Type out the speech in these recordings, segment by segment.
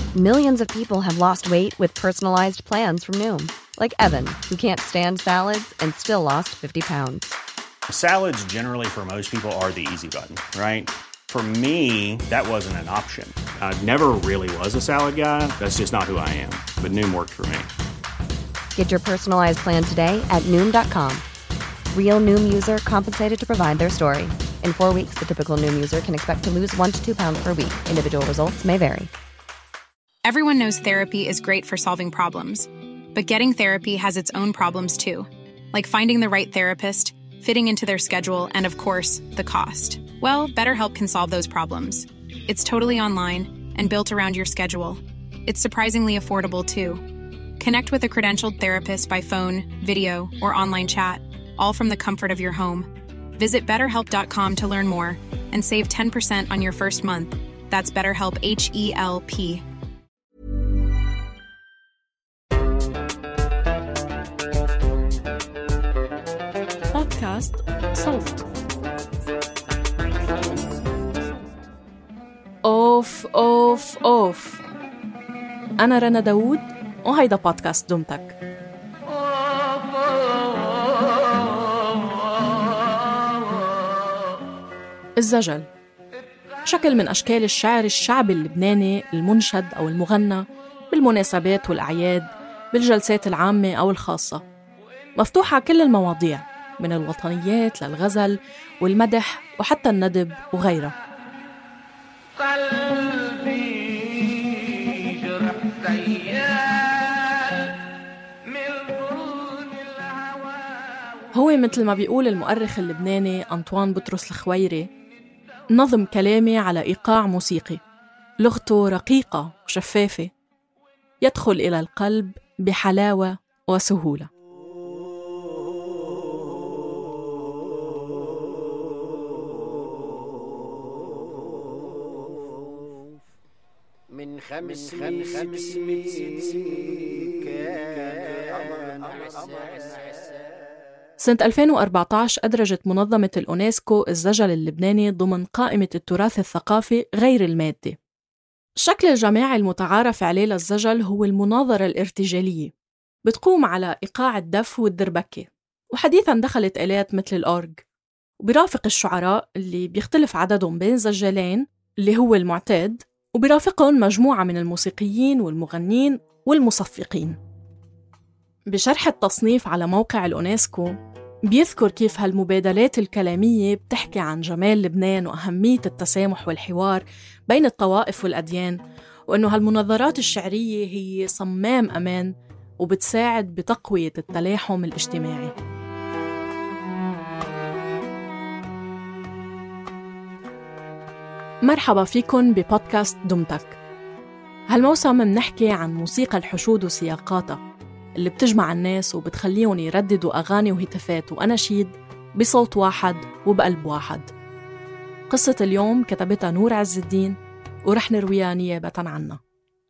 Millions of people have lost weight with personalized plans from Noom. Like Evan, who can't stand salads and still lost 50 pounds. Salads generally for most people are the easy button, right? For me, that wasn't an option. I never really was a salad guy. That's just not who I am. But Noom worked for me. Get your personalized plan today at Noom.com. Real Noom user compensated to provide their story. In 4 weeks, the typical Noom user can expect to lose 1 to 2 pounds per week. Individual results may vary. Everyone knows therapy is great for solving problems. But getting therapy has its own problems too. Like finding the right therapist, fitting into their schedule, and of course, the cost. Well, BetterHelp can solve those problems. It's totally online and built around your schedule. It's surprisingly affordable too. Connect with a credentialed therapist by phone, video, or online chat, all from the comfort of your home. Visit BetterHelp.com to learn more and save 10% on your first month. That's BetterHelp, H-E-L-P. بودكاست صوت. أوف أنا رنا داوود وهيدا بودكاست دمتك. الزجل شكل من أشكال الشعر الشعبي اللبناني المنشد أو المغنى بالمناسبات والأعياد، بالجلسات العامة أو الخاصة. مفتوحة كل المواضيع من الوطنيات للغزل والمدح وحتى الندب وغيرها. هو مثل ما بيقول المؤرخ اللبناني أنطوان بطرس الخويري، نظم كلامي على إيقاع موسيقي، لغته رقيقة وشفافة، يدخل إلى القلب بحلاوة وسهولة. من خمس سنة 2014 أدرجت منظمة الأونسكو الزجل اللبناني ضمن قائمة التراث الثقافي غير المادي. الشكل الجماعي المتعارف عليه للزجل هو المناظرة الارتجالية، بتقوم على إيقاع الدف والدربكة، وحديثاً دخلت آلات مثل الأورج، وبيرافق الشعراء اللي بيختلف عددهم بين زجالين اللي هو المعتاد، وبيرافقهم مجموعة من الموسيقيين والمغنين والمصفقين. بشرح التصنيف على موقع الأونسكو بيذكر كيف هالمبادلات الكلامية بتحكي عن جمال لبنان وأهمية التسامح والحوار بين الطوائف والأديان، وأنه هالمناظرات الشعرية هي صمام أمان وبتساعد بتقوية التلاحم الاجتماعي. مرحبا فيكن ببودكاست دمتك. هالموسم منحكي عن موسيقى الحشود وسياقاتها اللي بتجمع الناس وبتخليهم يرددوا أغاني وهتافات وأناشيد بصوت واحد وبقلب واحد. قصة اليوم كتبتها نور عز الدين ورح نرويها نيابة عنها.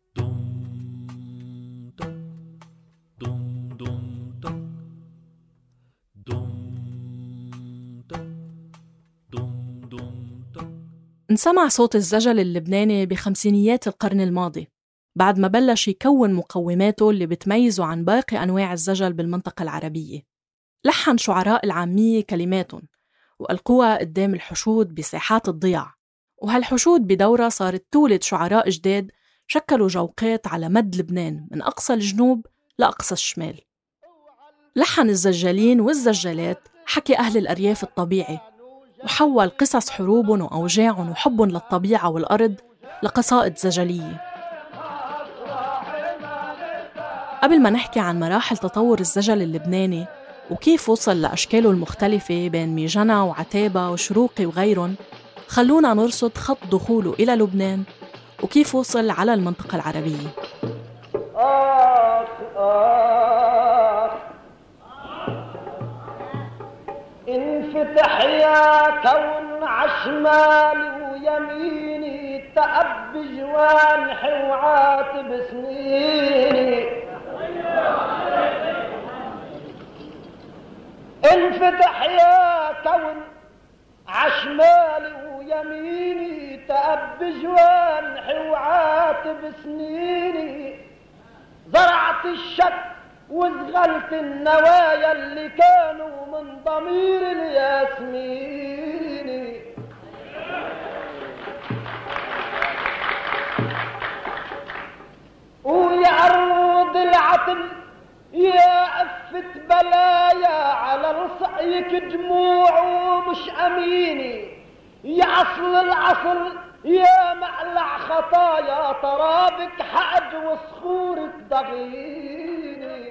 انسمع صوت الزجل اللبناني بخمسينيات القرن الماضي، بعد ما بلش يكون مقوماته اللي بتميزه عن باقي أنواع الزجل بالمنطقة العربية. لحن شعراء العامية كلماتهم وألقوها قدام الحشود بساحات الضياع، وهالحشود بدورة صارت تولد شعراء جداد شكلوا جوقات على مد لبنان من أقصى الجنوب لأقصى الشمال. لحن الزجالين والزجالات حكي أهل الأرياف الطبيعي، وحول قصص حروبهم وأوجاعهم وحبهم للطبيعة والأرض لقصائد زجلية. قبل ما نحكي عن مراحل تطور الزجل اللبناني وكيف وصل لأشكاله المختلفة بين ميجنة وعتابة وشروقي وغيرهم، خلونا نرصد خط دخوله إلى لبنان وكيف وصل على المنطقة العربية. انفتح يا كون عشمالي ويميني تأب جوانحي وعاتب سنيني. انفتح يا كون عشمالي ويميني تأب جوانحي وعاتب وضيعت بسنيني، زرعت الشك وزغلت النوايا اللي كانوا من ضمير الياسميني. ويا عروض العتل يا أفة بلايا، على رصعيك دموع ومش أميني، يا أصل العصر يا معلع خطايا، ترابك حج وصخورك ضغيني.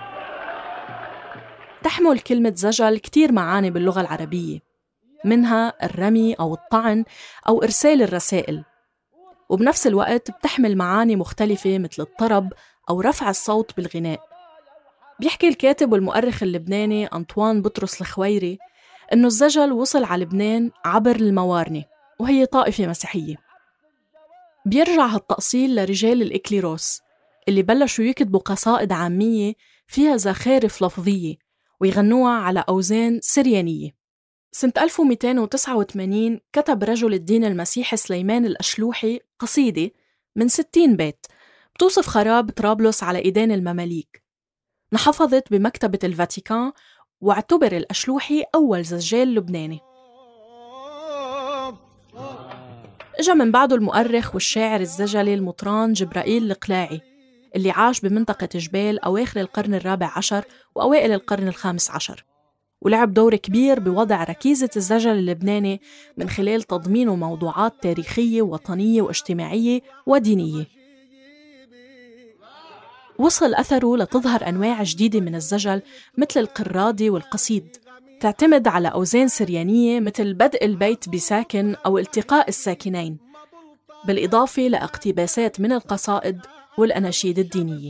تحمل كلمة زجل كتير معاني باللغة العربية، منها الرمي أو الطعن أو إرسال الرسائل، وبنفس الوقت بتحمل معاني مختلفة مثل الطرب أو رفع الصوت بالغناء. بيحكي الكاتب والمؤرخ اللبناني أنطوان بطرس الخويري إنه الزجل وصل على لبنان عبر الموارنة، وهي طائفة مسيحية. بيرجع هالتأصيل لرجال الإكليروس اللي بلشوا يكتبوا قصائد عامية فيها زخارف لفظية ويغنوها على أوزان سريانية. سنة 1289 كتب رجل الدين المسيحي سليمان الأشلوحي قصيدة من 60 بيت بتوصف خراب طرابلس على إيدين المماليك، انحفظت بمكتبة الفاتيكان، واعتبر الأشلوحي أول زجال لبناني. اجا من بعده المؤرخ والشاعر الزجلي المطران جبرائيل القلاعي اللي عاش بمنطقة جبال أواخر القرن الرابع عشر وأوائل القرن الخامس عشر، ولعب دور كبير بوضع ركيزة الزجل اللبناني من خلال تضمينه موضوعات تاريخية ووطنية واجتماعية ودينية. وصل أثره لتظهر أنواع جديدة من الزجل مثل القرادي والقصيد، تعتمد على أوزان سريانية مثل بدء البيت بساكن أو التقاء الساكنين، بالإضافة لاقتباسات من القصائد والأناشيد الدينية.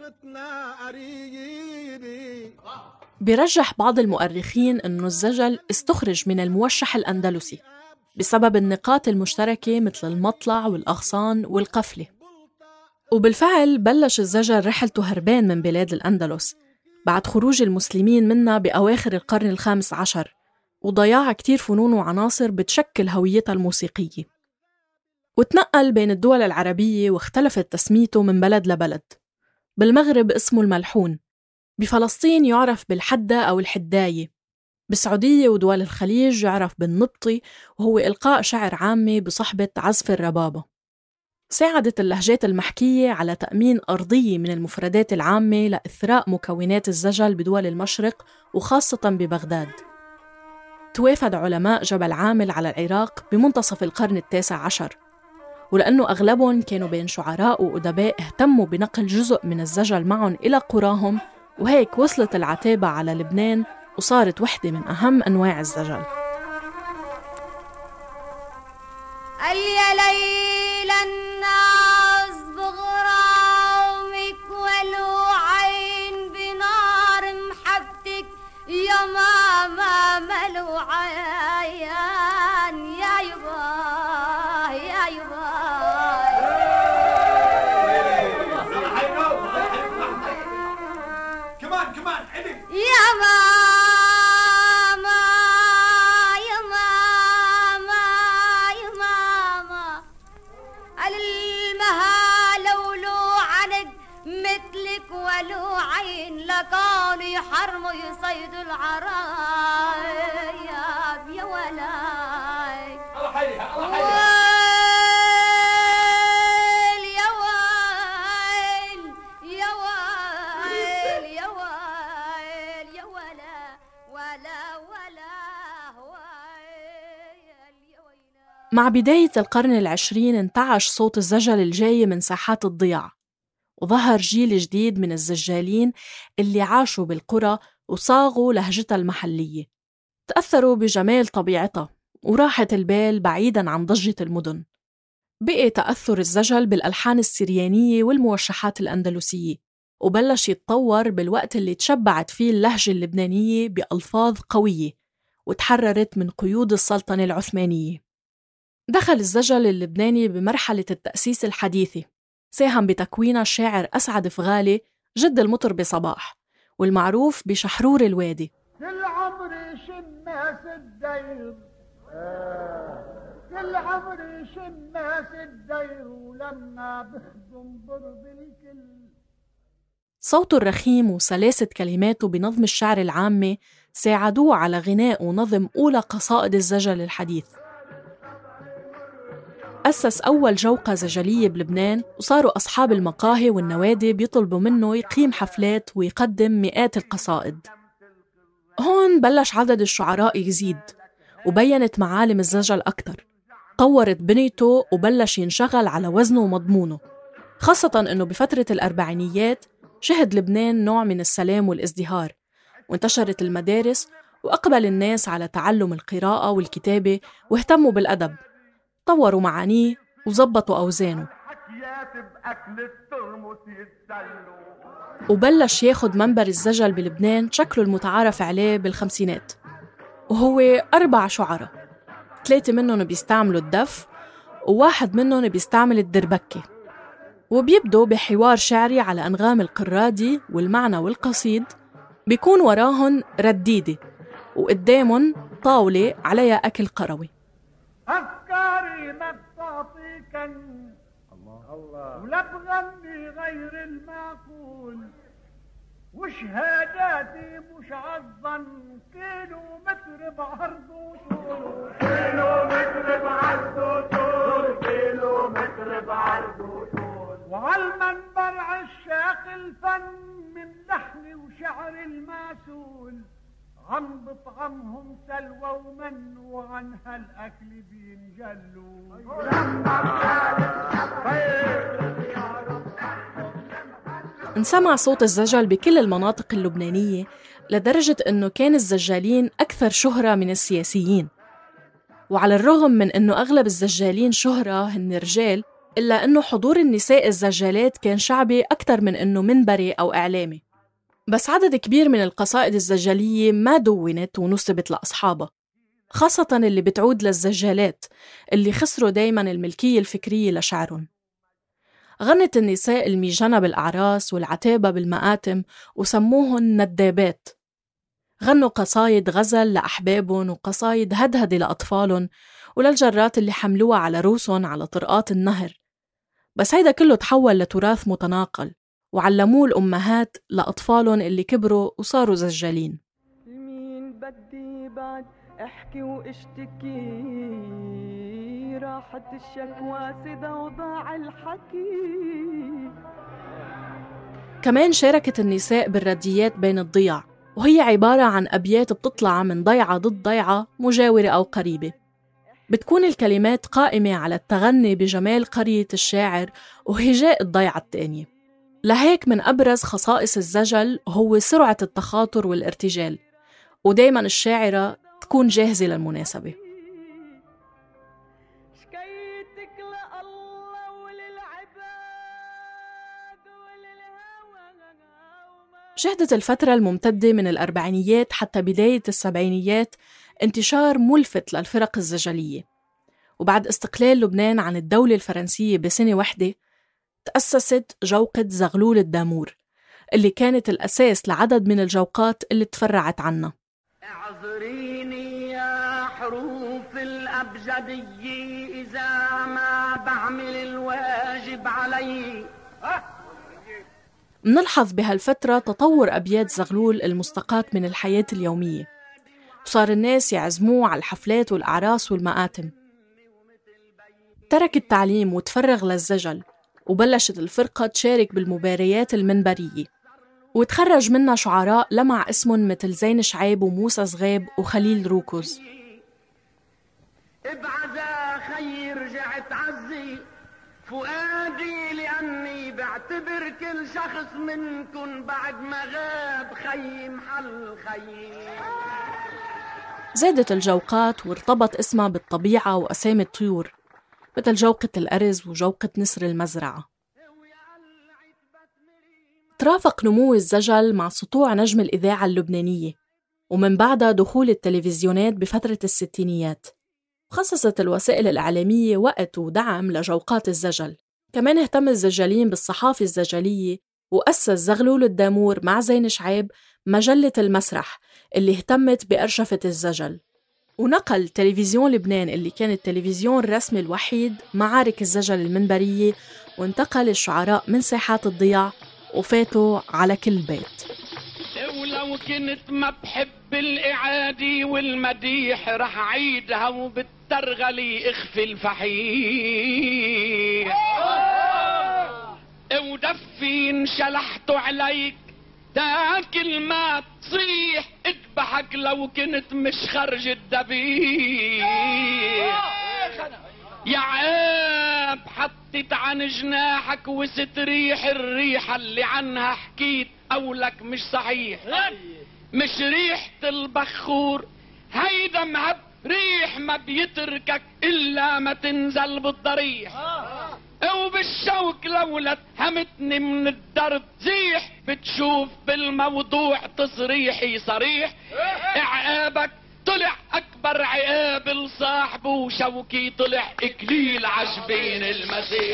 بيرجح بعض المؤرخين أنه الزجل استخرج من الموشح الأندلسي بسبب النقاط المشتركة مثل المطلع والأغصان والقفلة. وبالفعل بلش الزجل رحلته هربان من بلاد الأندلس بعد خروج المسلمين منها بأواخر القرن الخامس عشر وضياع كتير فنون وعناصر بتشكل هويتها الموسيقية، وتنقل بين الدول العربية واختلفت تسميته من بلد لبلد. بالمغرب اسمه الملحون، بفلسطين يعرف بالحدة أو الحداية، بالسعودية ودول الخليج يعرف بالنبطي، وهو إلقاء شعر عامي بصحبة عزف الربابة. ساعدت اللهجات المحكية على تأمين أرضية من المفردات العامة لإثراء مكونات الزجل بدول المشرق وخاصة ببغداد. توافد علماء جبل عامل على العراق بمنتصف القرن التاسع عشر، ولأنه أغلبهم كانوا بين شعراء وأدباء اهتموا بنقل جزء من الزجل معهم إلى قراهم، وهيك وصلت العتابة على لبنان وصارت وحدة من أهم أنواع الزجل. يا ليل الناس بغرامك ولو عين بنار محبتك يا ماما ملو عيان يا يبا يا يبا كمان يا ماما يا ماما يا ماما المها لولو عند مثلك ولو عين لكانوا يحرموا يصيدوا العرايب يا ولاي الله حيها الله حيها مع بداية القرن العشرين انتعش صوت الزجل الجاي من ساحات الضياع، وظهر جيل جديد من الزجالين اللي عاشوا بالقرى وصاغوا لهجتها المحلية، تأثروا بجمال طبيعتها وراحة البال بعيداً عن ضجة المدن. بقي تأثر الزجل بالألحان السريانية والموشحات الأندلسية، وبلش يتطور بالوقت اللي تشبعت فيه اللهجة اللبنانية بألفاظ قوية وتحررت من قيود السلطنة العثمانية. دخل الزجل اللبناني بمرحلة التأسيس الحديثة، ساهم بتكوينها الشاعر أسعد فغالي جد المطربة صباح، والمعروف بشحرور الوادي. كل عمري شماس الديب كل عمري شماس الدير ولما بخدم برض الكل. صوته الرخيم وسلاسة كلماته بنظم الشعر العامي ساعدوه على غناء ونظم أولى قصائد الزجل الحديث. أسس أول جوقة زجلية بلبنان، وصاروا أصحاب المقاهي والنوادي بيطلبوا منه يقيم حفلات ويقدم مئات القصائد. هون بلش عدد الشعراء يزيد، وبينت معالم الزجل أكتر، طورت بنيته وبلش ينشغل على وزنه ومضمونه، خاصة أنه بفترة الأربعينيات شهد لبنان نوع من السلام والازدهار، وانتشرت المدارس وأقبل الناس على تعلم القراءة والكتابة واهتموا بالأدب، طوروا معانيه وزبطوا أوزانه، وبلش ياخد منبر الزجل بلبنان شكله المتعارف عليه بالخمسينات، وهو 4 شعراء، 3 منهم بيستعملوا الدف وواحد منهم بيستعمل الدربكة، وبيبدوا بحوار شعري على أنغام القرادي والمعنى والقصيد، بيكون وراهن رديدة وقدامهم طاولة عليها أكل قروي. أفكاري ما بتعطيكن الله ولا بغني غير المعقول، وشهاداتي مش عالظن، كيلو متر بعرض وطول، كيلو متر بعرض وطول، كيلو متر بعرض وطول، وعالمنبر عشاق الفن من لحن وشعر الماسول، عم بطعمهم سلوى ومن وعن هالأكل بينجلوا. انسمع صوت الزجل بكل المناطق اللبنانية لدرجة أنه كان الزجالين أكثر شهرة من السياسيين، وعلى الرغم من أنه أغلب الزجالين شهرة هن رجال، إلا أنه حضور النساء الزجالات كان شعبي أكثر من أنه منبري أو إعلامي. بس عدد كبير من القصائد الزجلية ما دونت ونسبت لأصحابها، خاصة اللي بتعود للزجالات اللي خسروا دايماً الملكية الفكرية لشعرهم. غنت النساء الميجنة بالأعراس والعتابة بالمآتم وسموهن ندابات. غنوا قصايد غزل لأحبابهم وقصايد هدهدة لأطفالهم وللجرات اللي حملوها على روسهم على طرقات النهر. بس هيدا كله تحول لتراث متناقل وعلموه الأمهات لأطفالهم اللي كبروا وصاروا زجالين. مين بدي بعد احكي واشتكي، راحت الشكوى سدا وضاع الحكي. كمان شاركت النساء بالرديات بين الضياع، وهي عبارة عن أبيات بتطلع من ضيعة ضد ضيعة مجاورة أو قريبة. بتكون الكلمات قائمة على التغني بجمال قرية الشاعر وهجاء الضيعة التانية. لهيك من أبرز خصائص الزجل هو سرعة التخاطر والارتجال، ودايماً الشاعرة تكون جاهزة للمناسبة. شهدت الفترة الممتدة من الأربعينيات حتى بداية السبعينيات انتشار ملفت للفرق الزجلية، وبعد استقلال لبنان عن الدولة الفرنسية بسنة واحدة تأسست جوقة زغلول الدامور اللي كانت الأساس لعدد من الجوقات اللي تفرعت عنها. اعذريني يا حروف الأبجدية إذا ما بعمل الواجب علي. منلحظ بهالفترة تطور أبيات زغلول المستقاة من الحياة اليومية، وصار الناس يعزموه على الحفلات والأعراس والمآتم. ترك التعليم وتفرغ للزجل، وبلشت الفرقة تشارك بالمباريات المنبرية، وتخرج منها شعراء لمع اسمهم مثل زين شعيب وموسى صغيب وخليل روكوز. ابعزا خي رجعت عزي فؤادي لأني بعتبر كل شخص منكن بعد ما غاب خي محل خي. زادت الجوقات وارتبط اسمها بالطبيعة وأسامي الطيور مثل جوقة الأرز وجوقة نسر المزرعة. ترافق نمو الزجل مع سطوع نجم الإذاعة اللبنانية، ومن بعدها دخول التلفزيونات بفترة الستينيات. خصصت الوسائل الإعلامية وقت ودعم لجوقات الزجل. كمان اهتم الزجالين بالصحافة الزجلية، وأسس زغلول الدامور مع زين شعيب مجلة المسرح اللي اهتمت بأرشفة الزجل. ونقل تلفزيون لبنان اللي كان التلفزيون الرسمي الوحيد معارك الزجل المنبرية، وانتقل الشعراء من ساحات الضياع وفاتوا على كل بيت. ولو كنت ما بحب الإعادي والمديح رح عيدها وبالترغلي اخفي الفحيح ودفي انشلحت عليك تاكل ما تصيح اذبحك لو كنت مش خرج الذبيح يا عيب حطيت عن جناحك وستريح الريحة اللي عنها حكيت قولك مش صحيح مش ريحة البخور هيدا مهب ريح ما بيتركك إلا ما تنزل بالضريح وبالشوك لولا اتهمتني من الدرب زيح بتشوف بالموضوع تصريحي صريح عقابك طلع أكبر عقاب لصاحبه وشوكي طلع إكليل عجبين المسيح.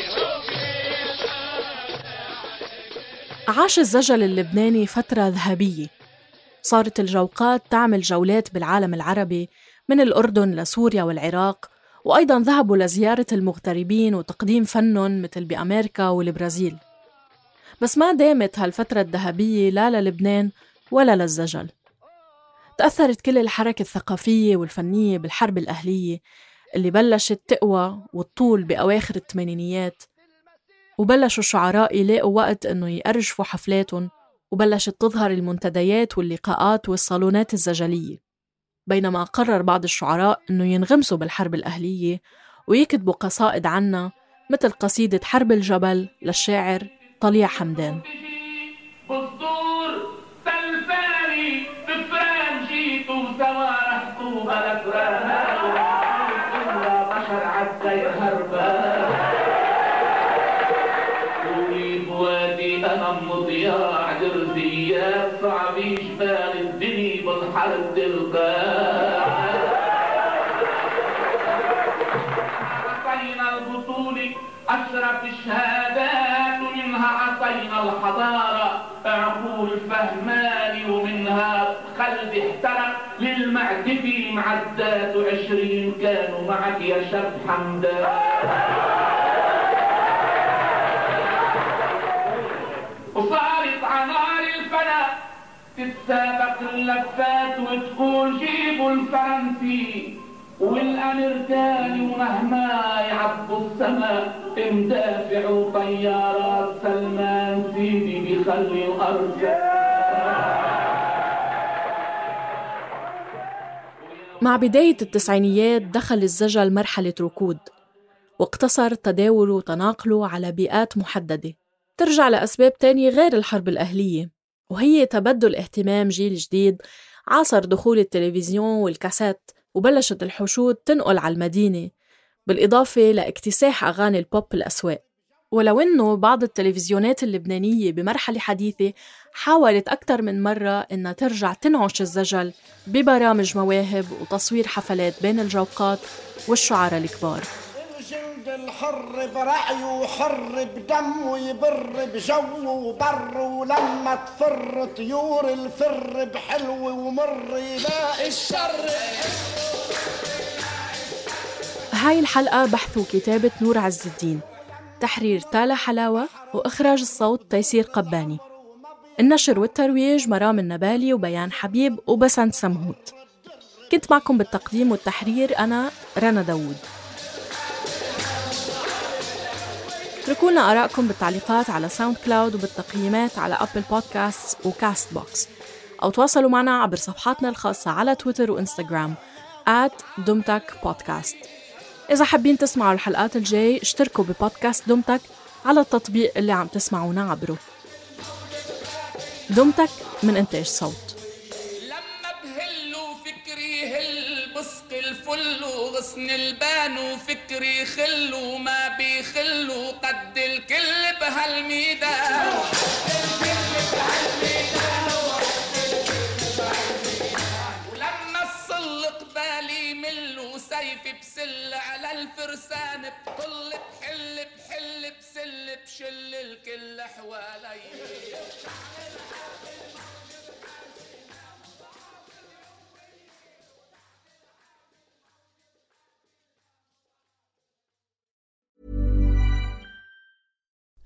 عاش الزجل اللبناني فترة ذهبية، صارت الجوقات تعمل جولات بالعالم العربي من الأردن لسوريا والعراق، وأيضاً ذهبوا لزيارة المغتربين وتقديم فنهم مثل بأمريكا والبرازيل. بس ما دامت هالفترة الذهبية لا للبنان ولا للزجل. تأثرت كل الحركة الثقافية والفنية بالحرب الأهلية اللي بلشت تقوى والطول بأواخر الثمانينيات، وبلشوا الشعراء يلاقوا وقت إنه يأرجفوا حفلاتهم، وبلشت تظهر المنتديات واللقاءات والصالونات الزجلية. بينما قرر بعض الشعراء إنه ينغمسوا بالحرب الأهلية ويكتبوا قصائد عنها، مثل قصيدة حرب الجبل للشاعر طليع حمدان. بالدور بالفاري بفران جيتوا سوارحتوا بالأفران بشر عالسير هربان طولي بوادي أنا مضياع درزيات صعبي جبال الدنيا بالحرب دلقان عصينا البطولة أشرف الشهادات ومنها عصينا الحضارة عقول فهماني ومنها خلد احترق للمعتفي معدات 20 كانوا معك يا شاب حمدان وصارت عنار الفنا تتسابق اللفات وتقول جيبوا الفرنسي والامريكاني ومهما يعبوا السماء مدافع وطيارات سلمان سيدي بيخلي الارض. مع بداية التسعينيات دخل الزجل مرحلة ركود، واقتصر تداوله وتناقله على بيئات محددة ترجع لأسباب تانية غير الحرب الأهلية، وهي تبدل اهتمام جيل جديد عاصر دخول التلفزيون والكاسات، وبلشت الحشود تنقل على المدينة، بالإضافة لاكتساح أغاني البوب الأسواق. ولو إنه بعض التلفزيونات اللبنانية بمرحلة حديثة حاولت أكثر من مرة إنها ترجع تنعش الزجل ببرامج مواهب وتصوير حفلات بين الجوقات والشعراء الكبار. الجلد الحر برعي وحر بدم ويبر بجو وبر، ولما تفر طيور الفر بحلو ومر يلاقي الشر. هاي الحلقة بحث وكتابة نور عز الدين، تحرير تالا حلاوة، وإخراج الصوت تيسير قباني، النشر والترويج مرام النبالي وبيان حبيب وبسنت سمهوت. كنت معكم بالتقديم والتحرير أنا رنا داوود. اتركوا لنا آراءكم بالتعليقات على ساوند كلاود وبالتقييمات على أبل بودكاست وكاست بوكس، أو تواصلوا معنا عبر صفحاتنا الخاصة على تويتر وإنستغرام @dumtak_podcast. إذا حابين تسمعوا الحلقات الجاي اشتركوا ببودكاست دمتك على التطبيق اللي عم تسمعونا عبره. دمتك من إنتاج صوت. لما بهلوا فكري هل بسق الفل وغصن البان وفكري خلوا ما بيخلوا قد الكل بهالميدان. ولما الصل قبالي ملوا سيفي بسل على الفرسان بطل بحل بسل بشل الكل حوالي.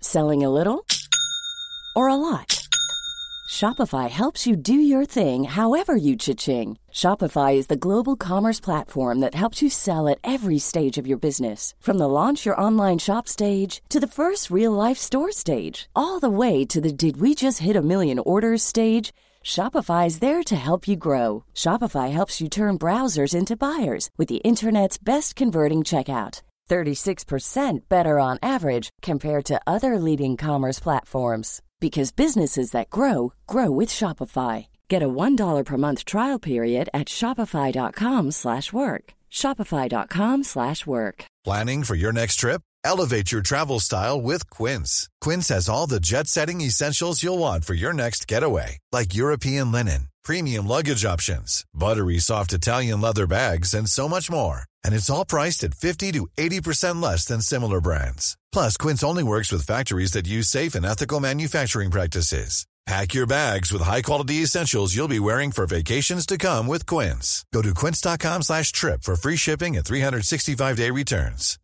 Selling a little or a lot? Shopify helps you do your thing however you cha-ching. Shopify is the global commerce platform that helps you sell at every stage of your business. From the launch your online shop stage to the first real-life store stage, all the way to the did we just hit a million orders stage. Shopify is there to help you grow. Shopify helps you turn browsers into buyers with the internet's best converting checkout. 36% better on average compared to other leading commerce platforms. Because businesses that grow, grow with Shopify. Get a $1 per month trial period at shopify.com/work. Shopify.com/work. Planning for your next trip? Elevate your travel style with Quince. Quince has all the jet-setting essentials you'll want for your next getaway, like European linen, premium luggage options, buttery soft Italian leather bags, and so much more. And it's all priced at 50 to 80% less than similar brands. Plus, Quince only works with factories that use safe and ethical manufacturing practices. Pack your bags with high-quality essentials you'll be wearing for vacations to come with Quince. Go to quince.com/trip for free shipping and 365-day returns.